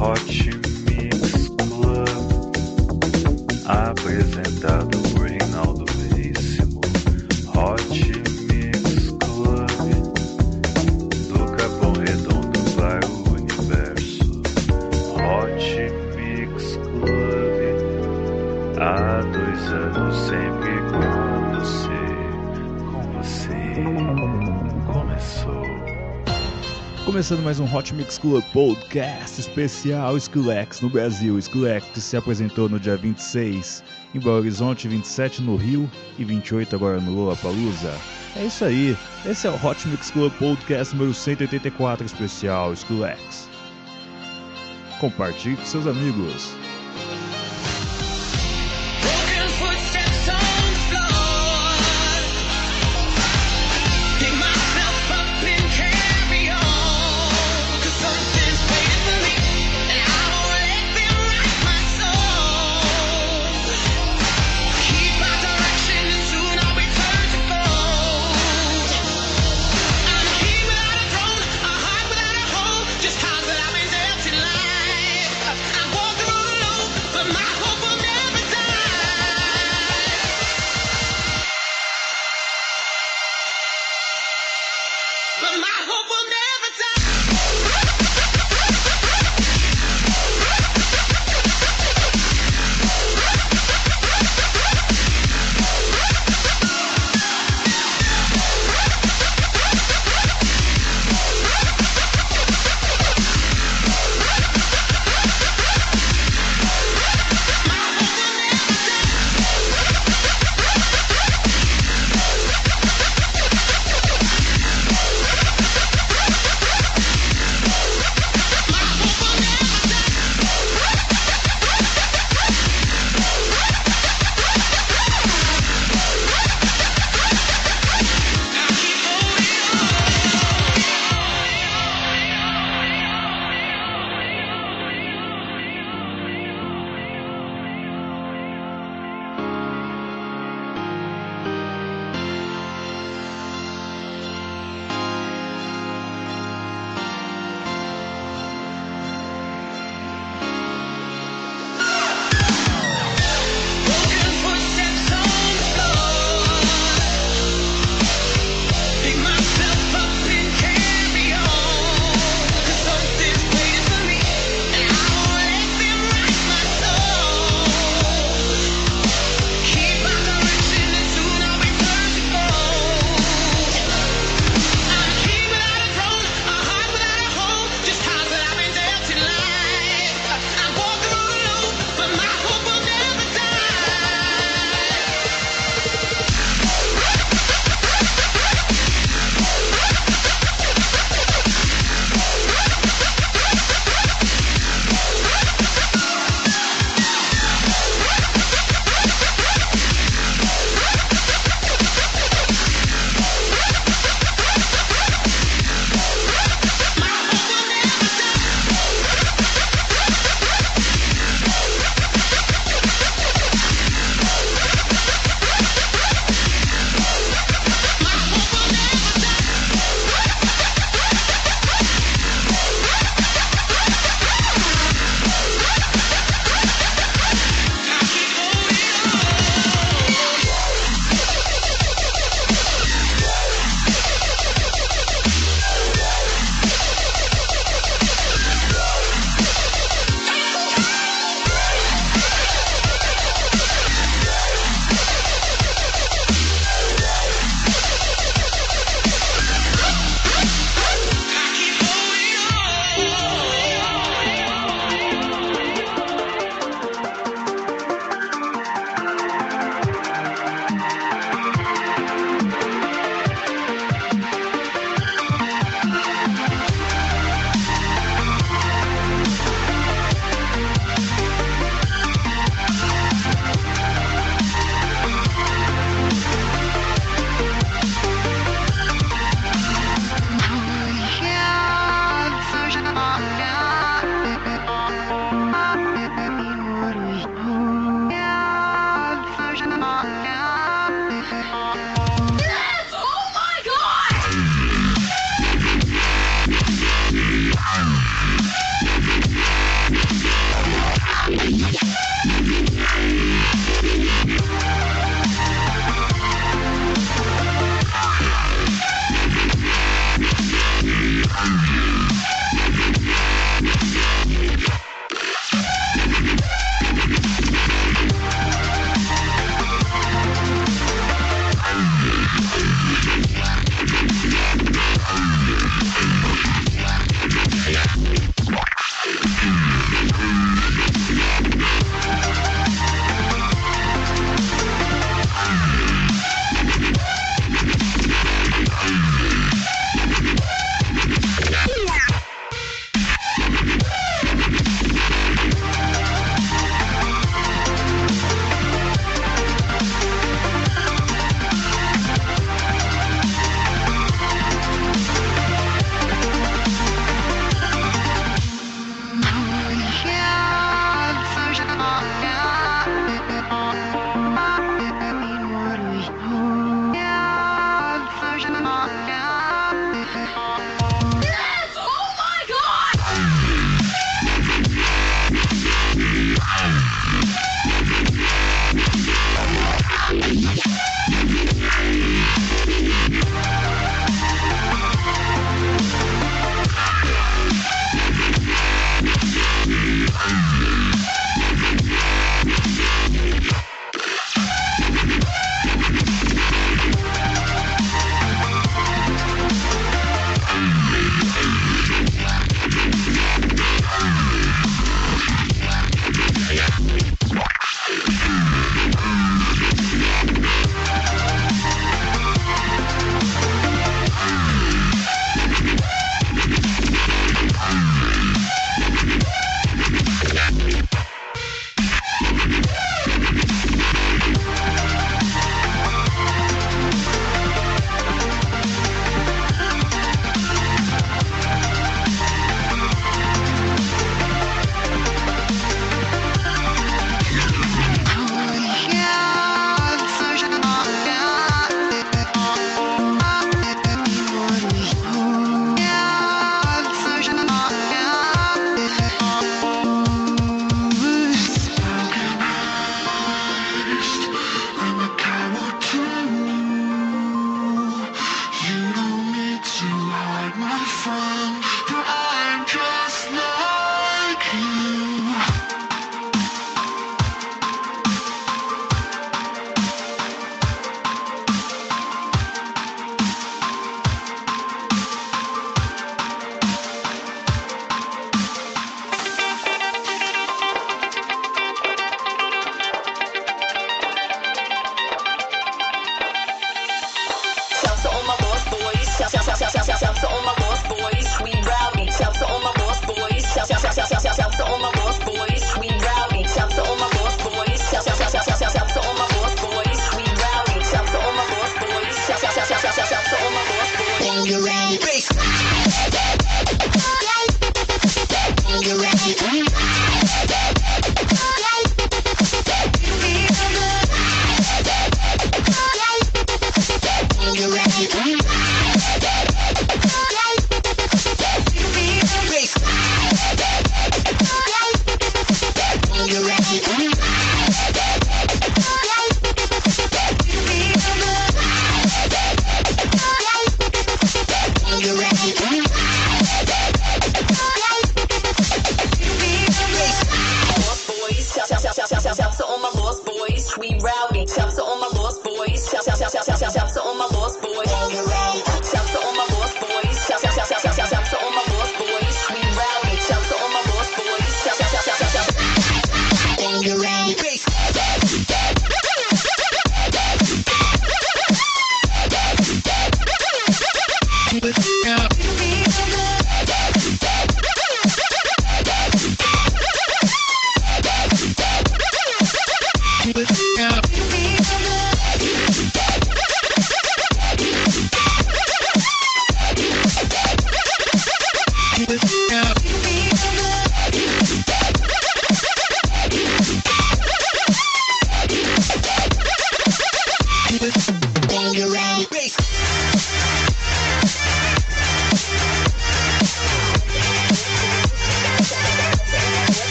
Hot Mix Club, apresentado por Reinaldo Veríssimo. Hot Mix Club, do Capão Redondo para o universo. Hot Mix Club, há 2 anos sempre com você, começou. Começando mais um Hot Mix Club Podcast especial Skrillex no Brasil. Skrillex que se apresentou no dia 26 em Belo Horizonte, 27 no Rio e 28 agora no Lollapalooza. É isso aí, esse é o Hot Mix Club Podcast número 184 especial Skrillex. Compartilhe com seus amigos.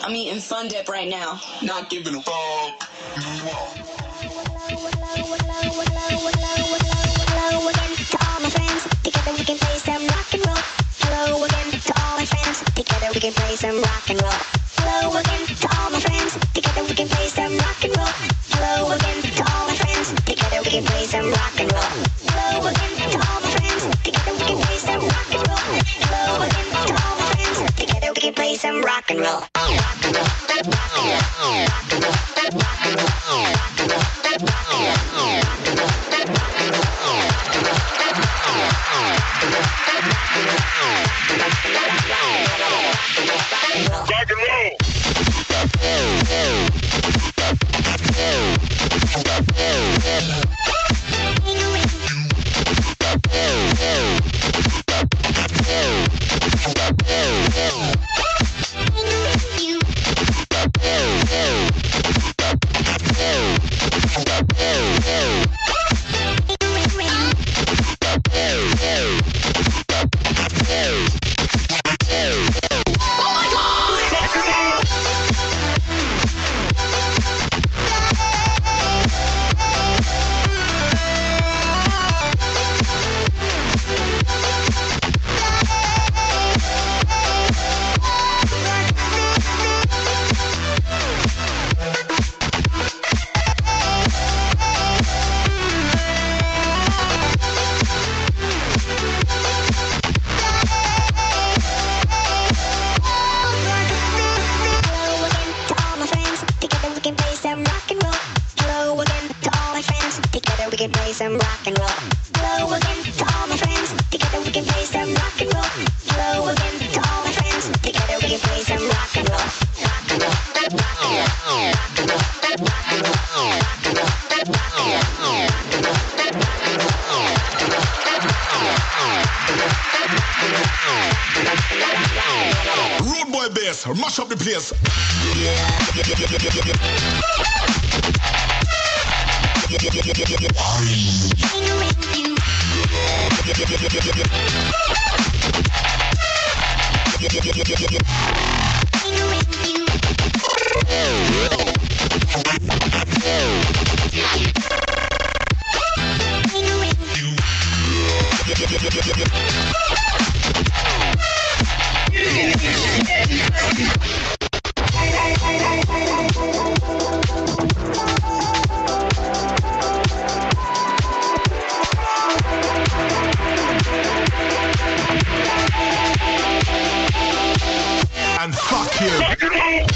I'm eating Fun Dip right now. Not giving a fuck. Hello again to all my friends. Together we can play some rock and roll. Hello again to all my friends. Together we can play some rock and roll. Hello again to all my friends. Together we can play some rock and roll. Hello again to all my friends. Together we can play some rock and roll. Hello again to all my friends. Together we can play some rock and roll. Hello again to all my friends. Together we can play some rock and roll. Rock and roll. Rock and roll. Rock and roll. Rock and roll. Rock and roll. Rude boy bass, mash up the place. And fuck you.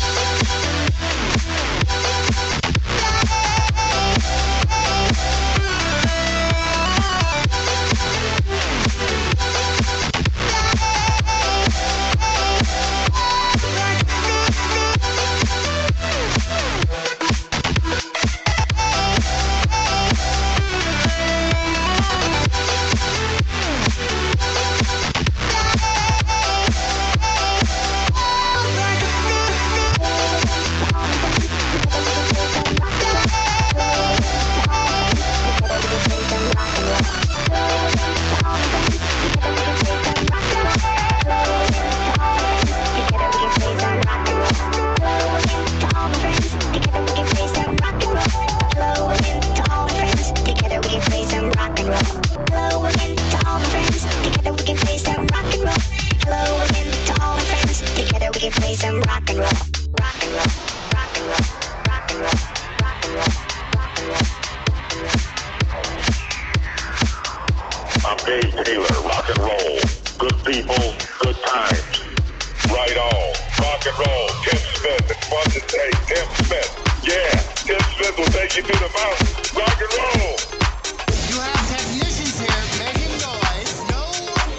I'm Dave Taylor, rock and roll. Good people, good times. Right on. Rock and roll. Tim Smith. It's fun to say Tim Smith. Yeah, Tim Smith will take you to the mountains. Rock and roll. You have technicians here making noise. No one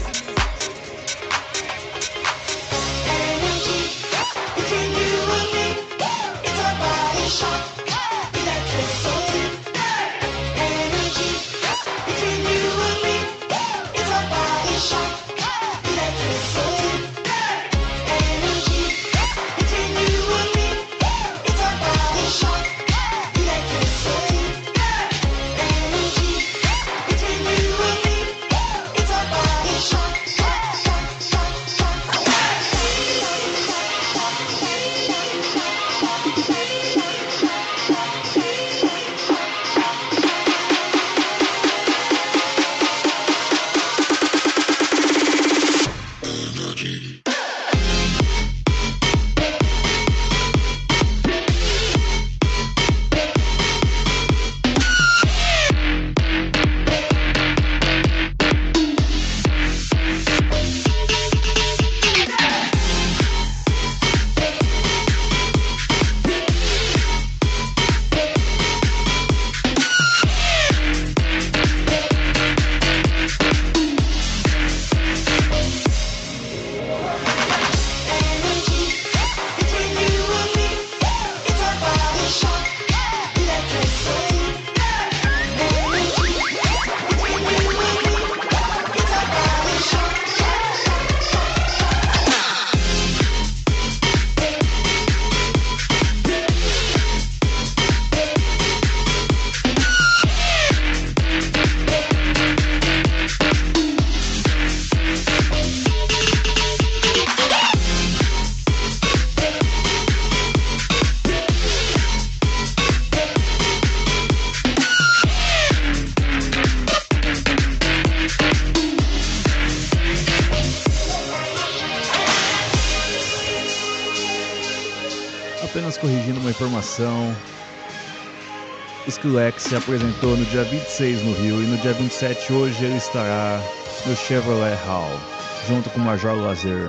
Energy between you and me. It's a body shot. Electricity. Energy between you and me. It's a body shot. Electricity. Energy between you and me. It's a body shot. Electricity. corrigindo uma informação. Skrillex se apresentou no dia 26 no Rio e no dia 27 hoje ele estará no Chevrolet Hall, junto com o Major Lazer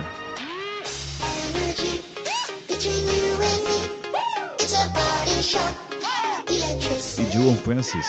e Dylan Francis.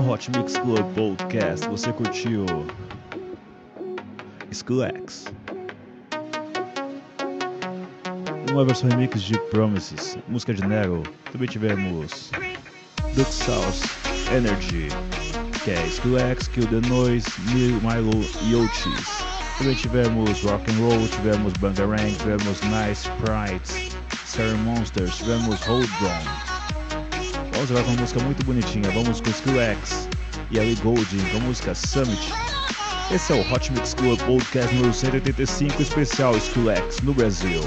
no Hot Mix Club Podcast você curtiu Skrillex, uma versão remix de Promises, música de Nero. Também tivemos Duke Sauce, Energy, que é Skrillex, Kill the Noise, Milo e Otis. Também tivemos Rock and Roll, tivemos Bangarang, tivemos Nice Sprites, Scary Monsters, tivemos Hold On. Vamos agora com uma música muito bonitinha, vamos com Skrillex e Ellie Goulding com a música Summit. Esse é o Hot Mix Club Podcast número 185, especial Skrillex no Brasil.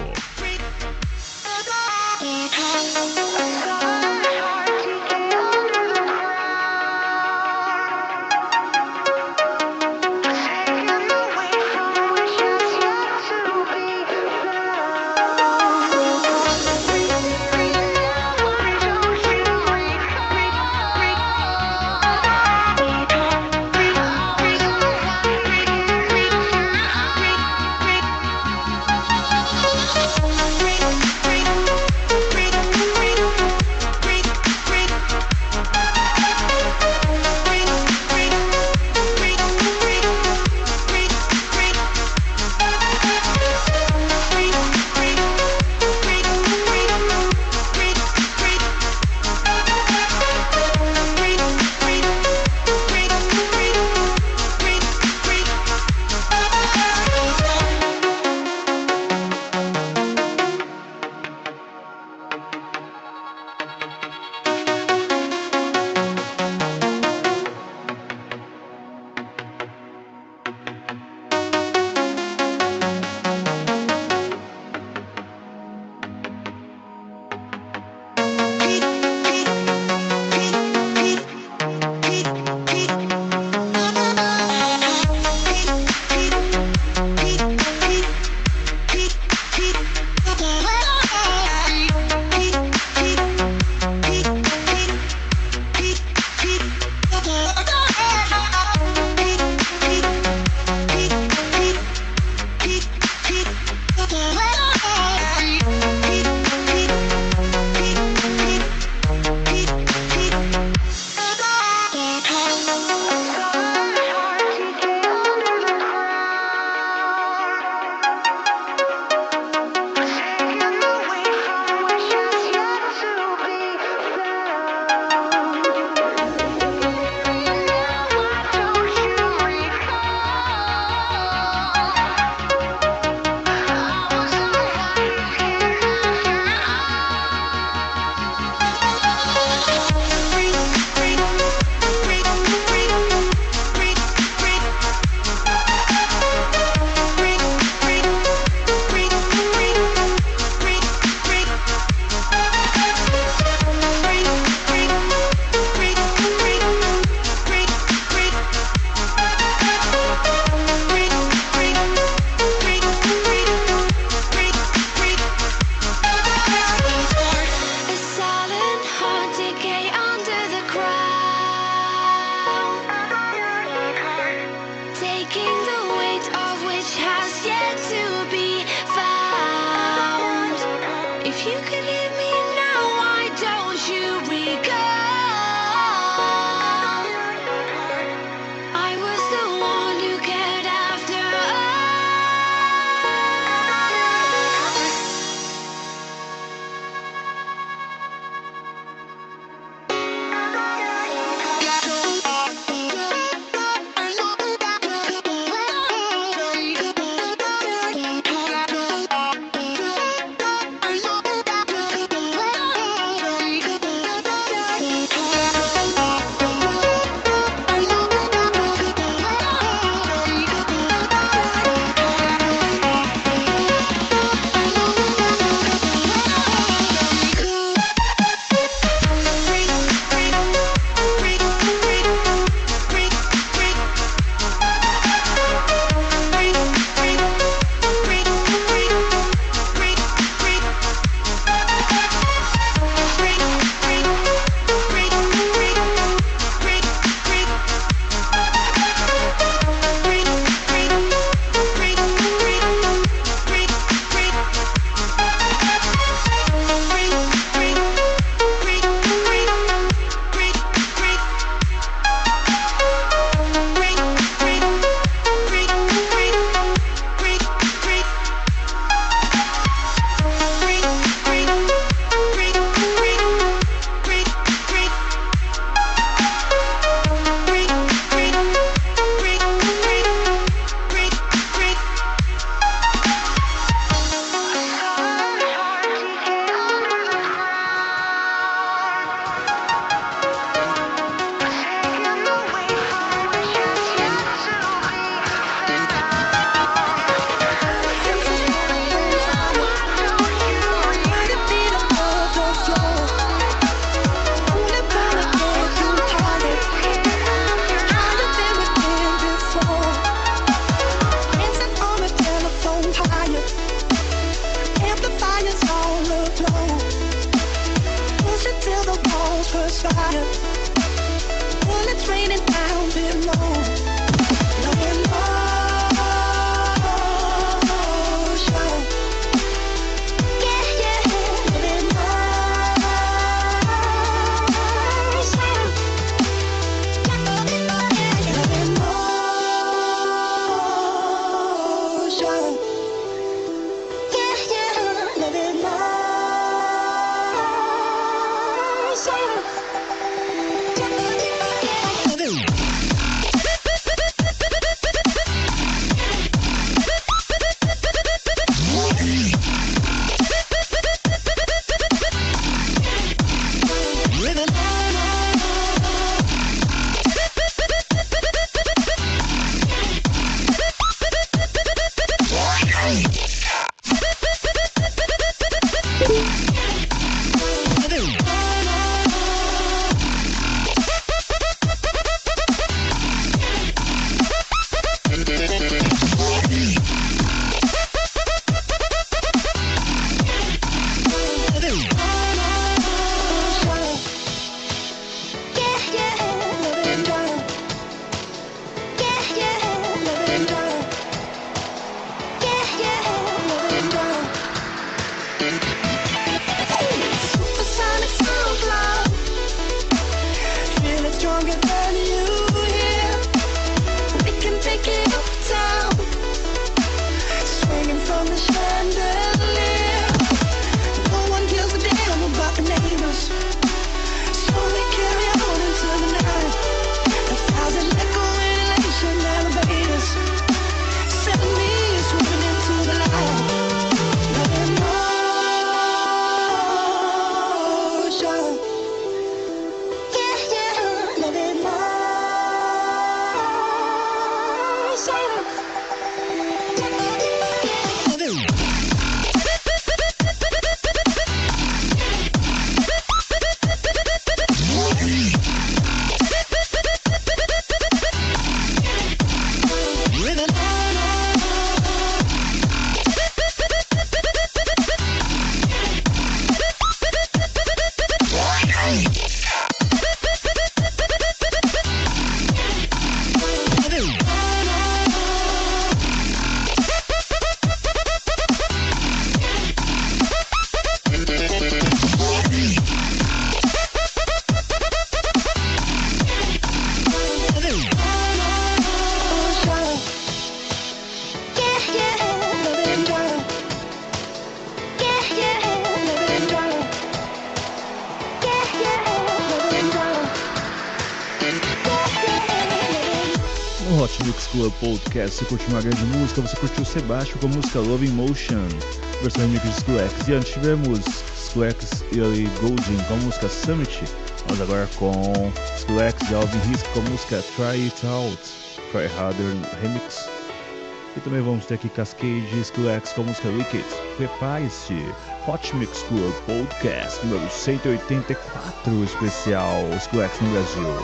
No Hot Mix Club Podcast, você curtiu uma grande música, você curtiu o Sebastian com a música Love in Motion, versão remix de Skrillex. E antes tivemos Skrillex e Ellie Goulding com a música Summit. Vamos agora com Skrillex e Alvin Risk com a música Try It Out, Try Harder Remix. E também vamos ter aqui Cascade e Skrillex com a música Wicked. Prepare-se, Hot Mix Club Podcast número 184, especial Skrillex no Brasil.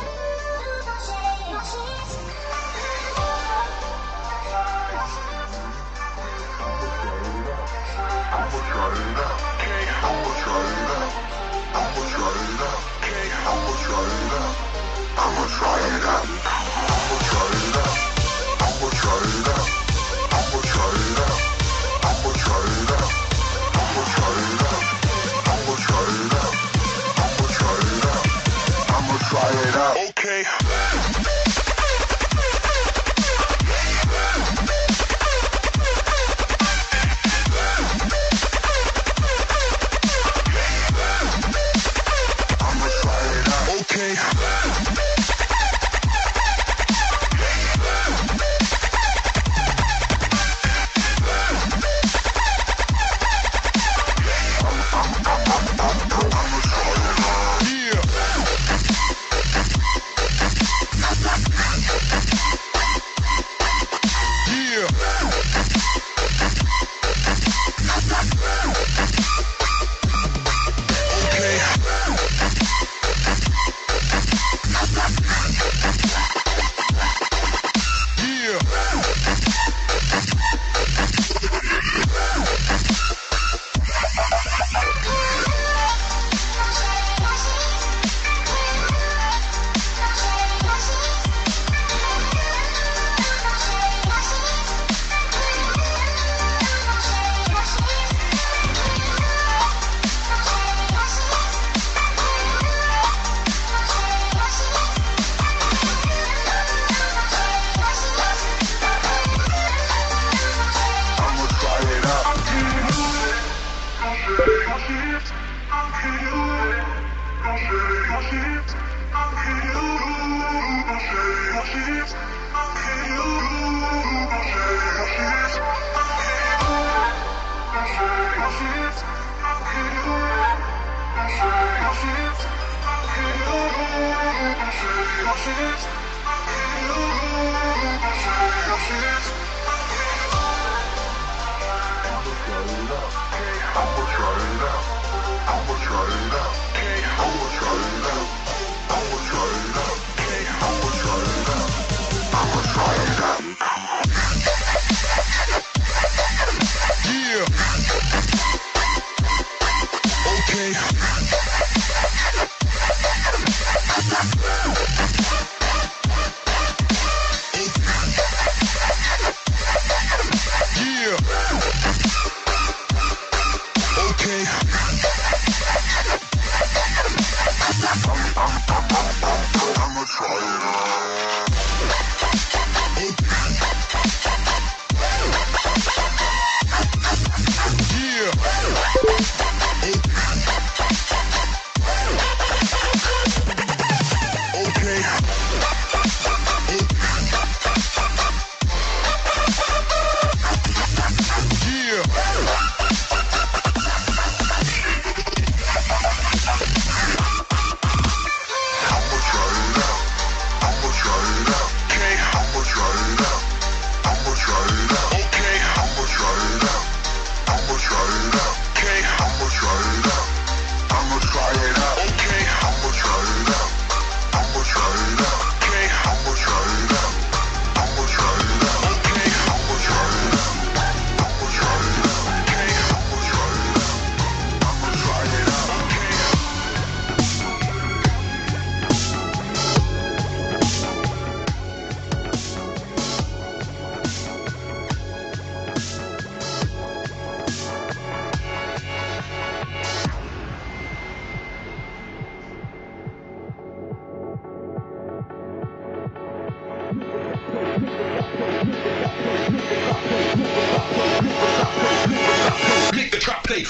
Make the trap play.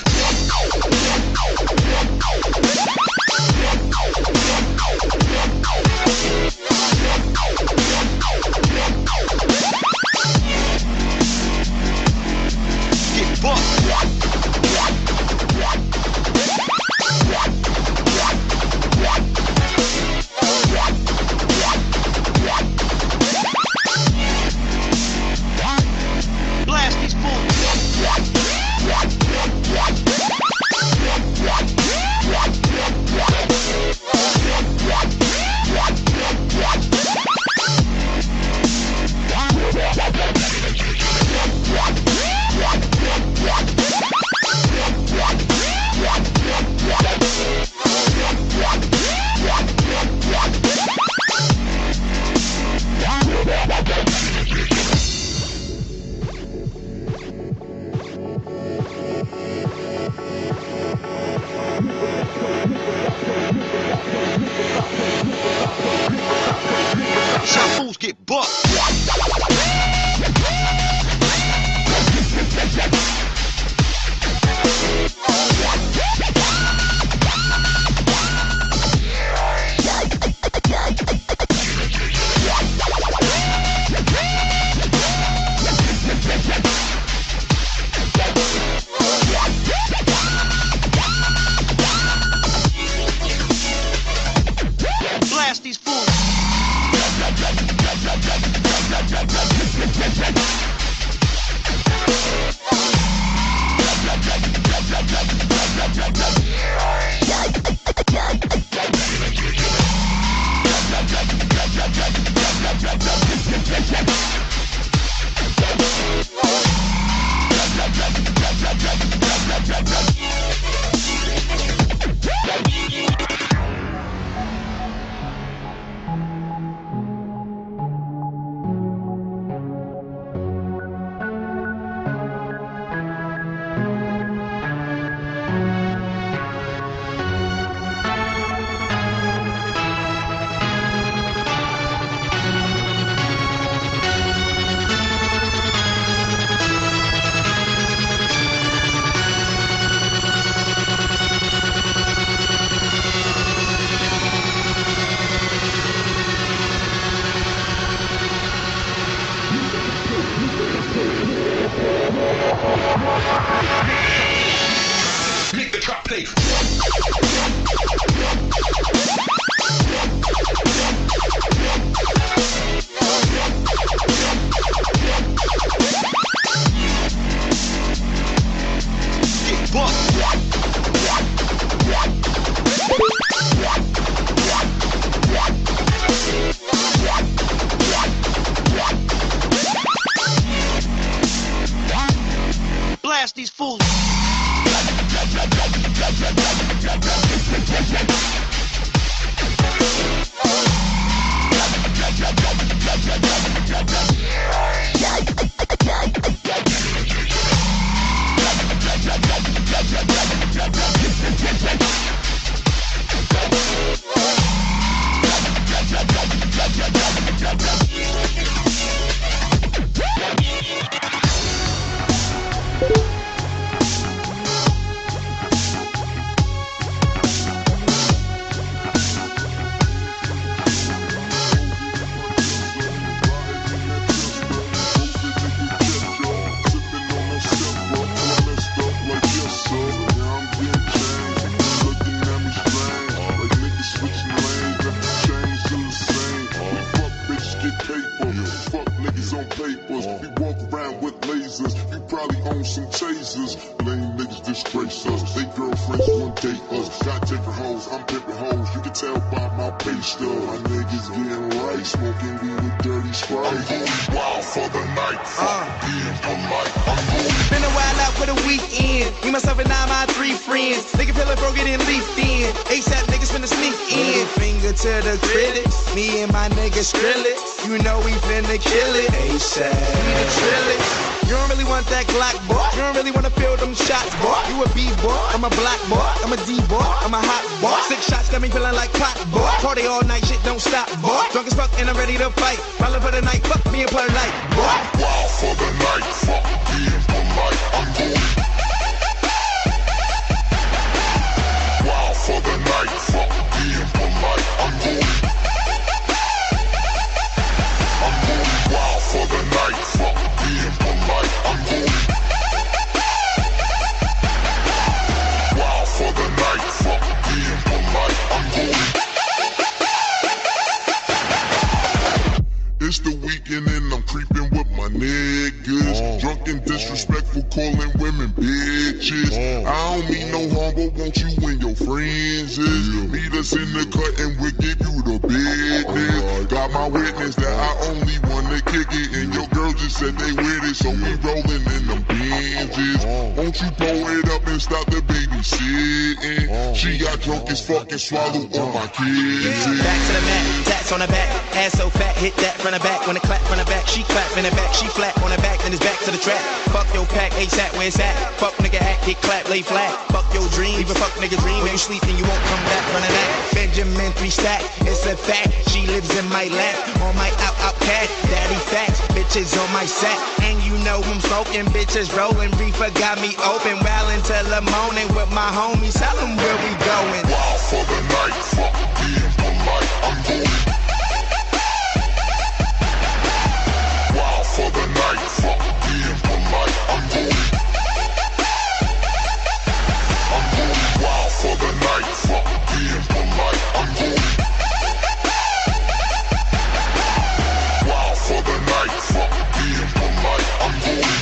fools get bucked. Blast these fools. Make the trap play. Get bucked. Blast these fools. disgrace us. They girlfriends won't date us. Got different hoes, I'm pimping hoes. You can tell by my pay stub. My niggas getting right, smoking weed with dirty Sprite. I'm going wild for the night, fuck being polite. I'm going. Been a while out for the weekend. Me, myself, and now my 3 friends. Nigga feeling broke it and leafed in. ASAP niggas finna sneak in. Finger to the critics. Me and my niggas Skrillex. You know we finna kill it. ASAP. We the Trillix. You don't really want that Glock, boy. You don't really wanna feel them shots, boy. You a B-boy, I'm a black boy. I'm a D-boy, I'm a hot boy. 6 shots got me feeling like pot, boy. Party all night, shit don't stop, boy. Drunk as fuck and I'm ready to fight. Rolling for the night, fuck me and polite, boy. Wild for the night, fuck being polite. I'm going. Wild for the night, fuck being polite. I'm going. I'm going wild for the night, fuck being polite. I'm going. Wild for the night, fuck being polite. I'm going. It's the weekend and I'm creeping with my niggas. Drunk and disrespectful, calling women bitches. I don't mean no harm, but won't you and your friends is? Meet us in the cut and we'll give you the business. Got my witness that I only wanna kick it, and your girl just said they with it, so we rolling in them Benzes. Won't you pull it up and stop the babysitting? She got drunk as fuck and swallowed all my kids. Back to the mat, tats on the back, ass so fat, hit that from the back. When it clap from the back, she clap in the back, she flat on the back, then it's back to the track. Fuck your pack, ASAP, where it's at? Fuck nigga act, hit clap, lay flat. Fuck your dream, even fuck nigga dream. When you sleep and you won't come back from the that. Benjamin 3 stack, it's a fact. She lives in my lap, on my out cat, daddy facts, bitches on my sack. And you know I'm smoking, bitches rolling, reefer got me open. Wildin' till the morning with my homies, tell them where we going. Wild for the night, fuck being polite, I'm going. Wild for the night, fuck being polite, I'm going. I'm going wild for the night, fuck being polite, I'm going. Wild for the night, fuck being polite, I'm going.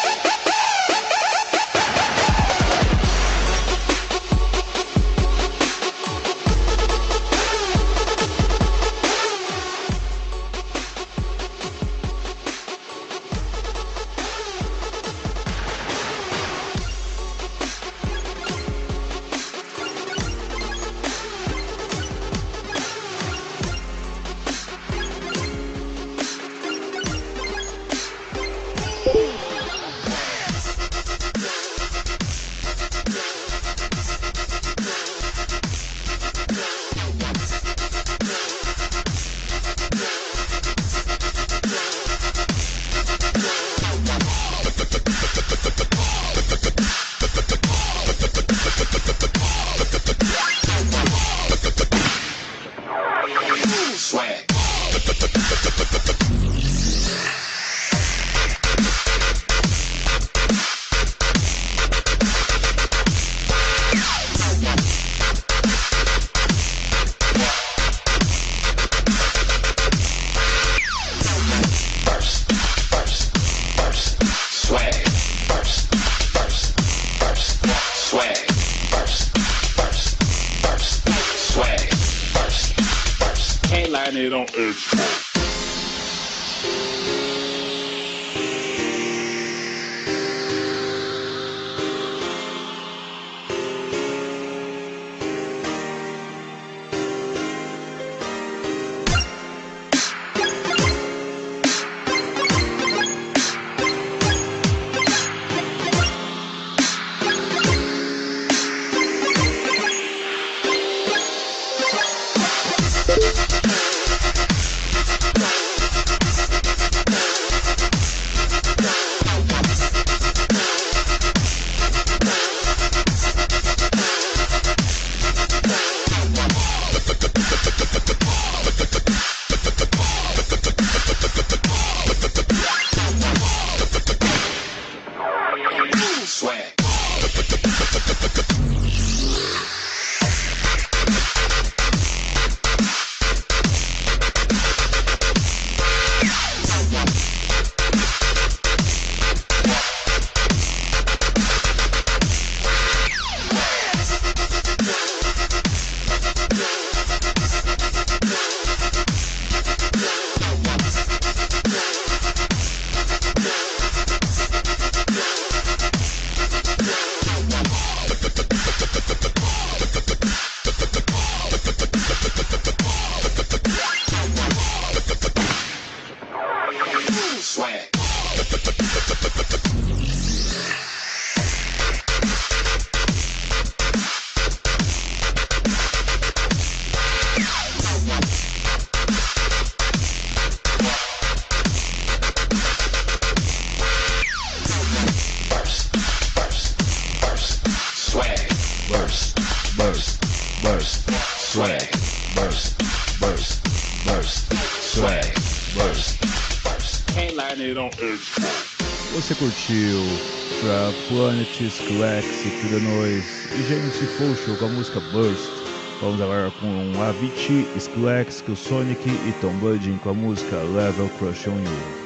It on earth. Você curtiu Trap Planet, Skillex, Kid Noise e James Focho com a música Burst. Vamos agora com Avicii, Skillex, Kill Sonic e Tom Budin com a música Level Crush on You.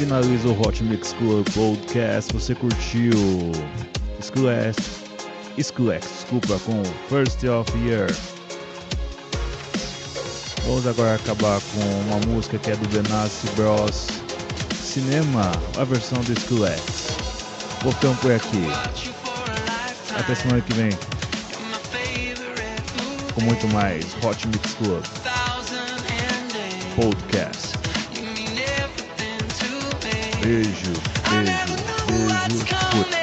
finaliza o Hot Mix Club Podcast. Você curtiu Skrillex, com First of Year. Vamos agora acabar com uma música que é do Benassi Bros. Cinema, a versão do Skrillex. Voltamos por aqui. Até semana que vem com muito mais Hot Mix Club Podcast. Beijo. Fui.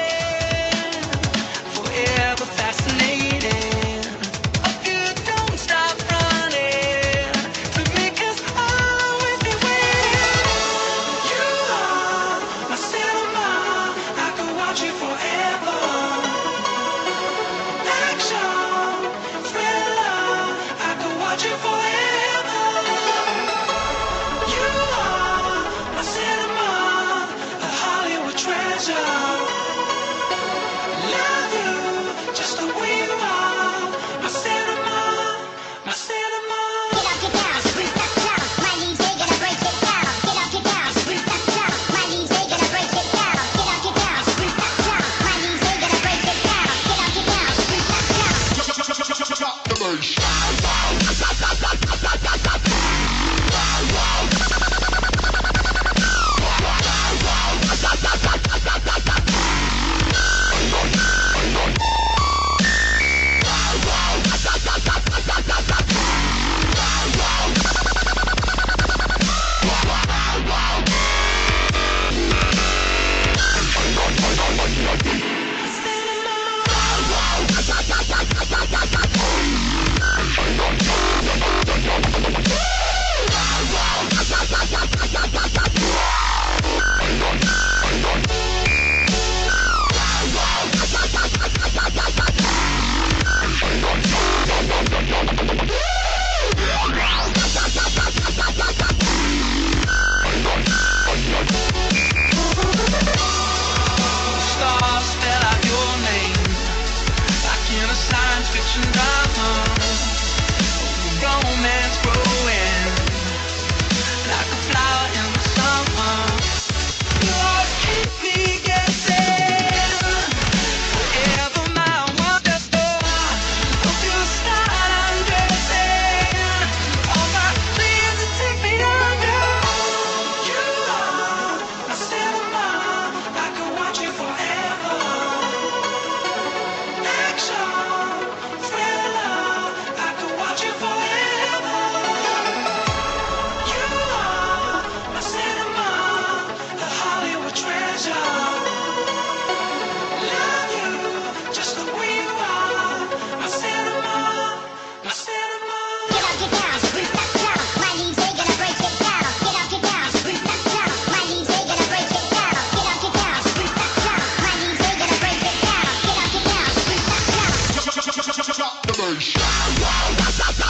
Wow, wow, wow, wow.